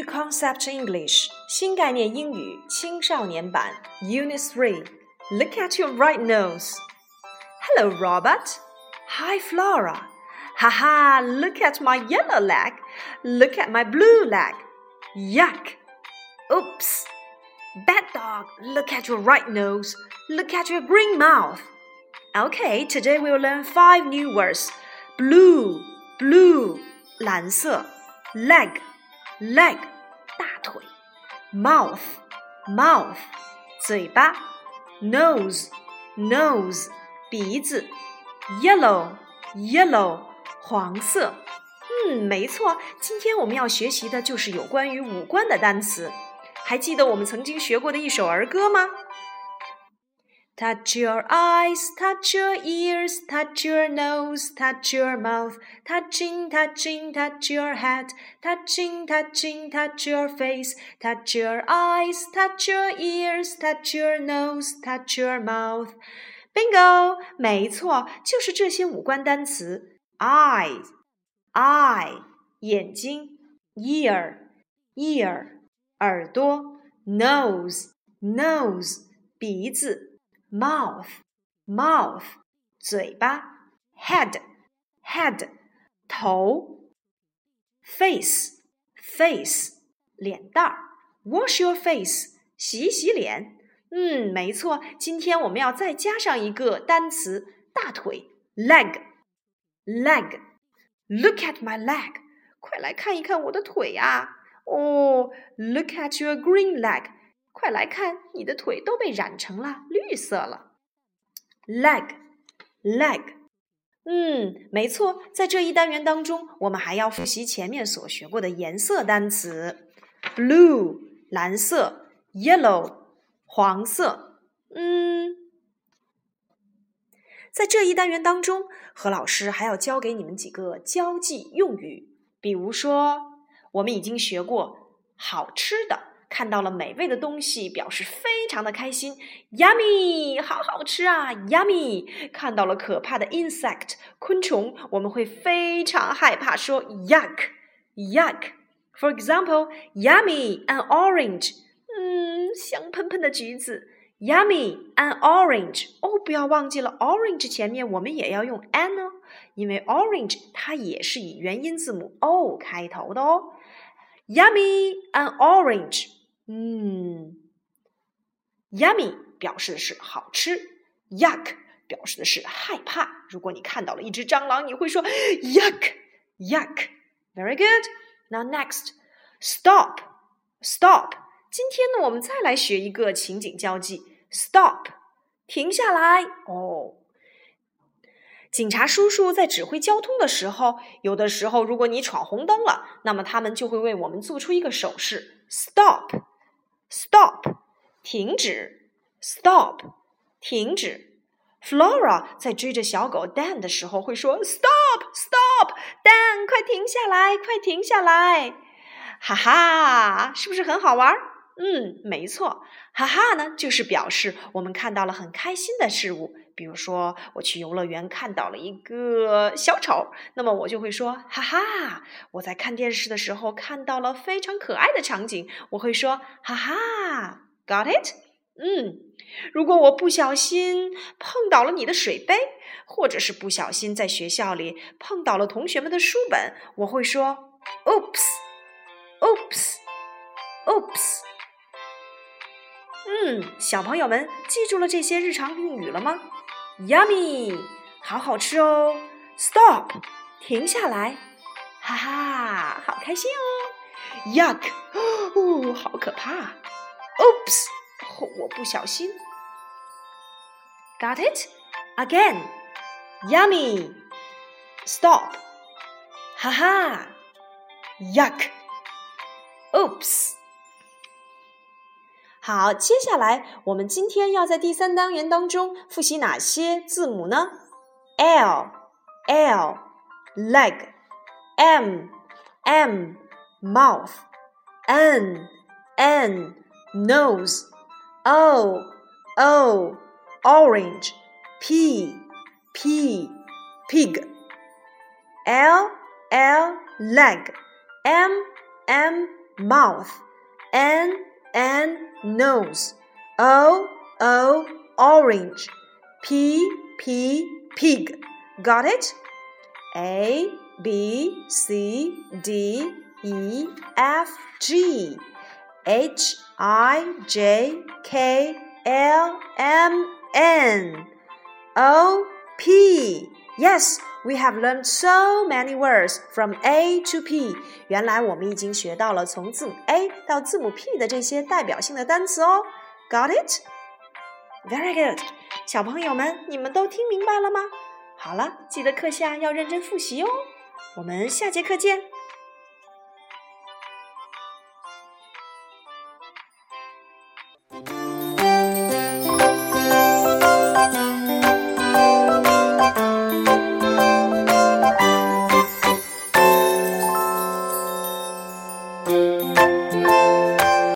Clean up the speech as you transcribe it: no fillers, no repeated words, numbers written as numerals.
Concept English 新概念英语青少年版 Unit 3 Look at your right nose. Hello, Robert. Hi, Flora. Haha, look at my yellow leg. Look at my blue leg. Yuck. Oops. Bad dog, look at your right nose. Look at your green mouth. Okay, today we'll learn 5 new words. Blue, 蓝色 Leg, 大腿 Mouth, 嘴巴 Nose, 鼻子 Yellow, 黄色没错，今天我们要学习的就是有关于五官的单词。还记得我们曾经学过的一首儿歌吗？ Touch your eyes, touch your ears, touch your nose, touch your mouth, touching, touch your head, touching, touch your face, touch your eyes, touch your ears, touch your nose, touch your mouth. Bingo! 没错，就是这些五官单词 eye, 眼睛 ear, 耳朵 nose, 鼻子Mouth, 嘴巴 Head, 头 Face, 脸蛋儿 Wash your face, 洗脸没错，今天我们要再加上一个单词大腿 Leg, Look at my leg, 快来看一看我的腿啊Look at your green leg, 快来看你的腿都被染成了绿色了Leg, 没错，在这一单元当中，我们还要复习前面所学过的颜色单词 Blue, 蓝色 Yellow, 黄色在这一单元当中，何老师还要教给你们几个交际用语，比如说我们已经学过好吃的，看到了美味的东西表示非常的开心 Yummy, 好好吃啊 Yummy 看到了可怕的 insect 昆虫，我们会非常害怕说 Yuck For example, Yummy, an orange 香喷喷的橘子 Yummy, an orange 不要忘记了 orange 前面我们也要用 an 因为 orange 它也是以元音字母 O 开头的Yummy, an orange Yummy 表示的是好吃 Yuck 表示的是害怕，如果你看到了一只蟑螂，你会说 Yuck Very good. Now next, Stop. 今天呢，我们再来学一个情景交际 Stop 停下来警察叔叔在指挥交通的时候，有的时候如果你闯红灯了，那么他们就会为我们做出一个手势 Stop, 停止 Stop, 停止 Flora 在追着小狗 Dan 的时候会说 Stop, Dan 快停下来哈哈，是不是很好玩？没错，哈哈呢就是表示我们看到了很开心的事物，比如说我去游乐园看到了一个小丑，那么我就会说哈哈，我在看电视的时候看到了非常可爱的场景，我会说哈哈 Got it? 如果我不小心碰倒了你的水杯，或者是不小心在学校里碰倒了同学们的书本，我会说 Oops小朋友们记住了这些日常用语了吗？ Yummy 好好吃哦 Stop 停下来哈哈好开心Yuck 好可怕Oops 我不小心 Got it? Again Yummy Stop 哈哈 Yuck Oops好，接下来我们今天要在第3单元当中复习哪些字母呢？ L, leg, M, mouth, N, nose, O, orange, P, pig, L, leg, M, mouth. N, nose. O, orange. P, pig. Got it? A, B, C, D, E, F, G. H, I, J, K, L, M, N. O, P. Yes, we have learned so many words from A to P. 原来我们已经学到了从字母 A 到字母 P 的这些代表性的单词哦。Got it? Very good. 小朋友们，你们都听明白了吗？好了，记得课下要认真复习哦。我们下节课见。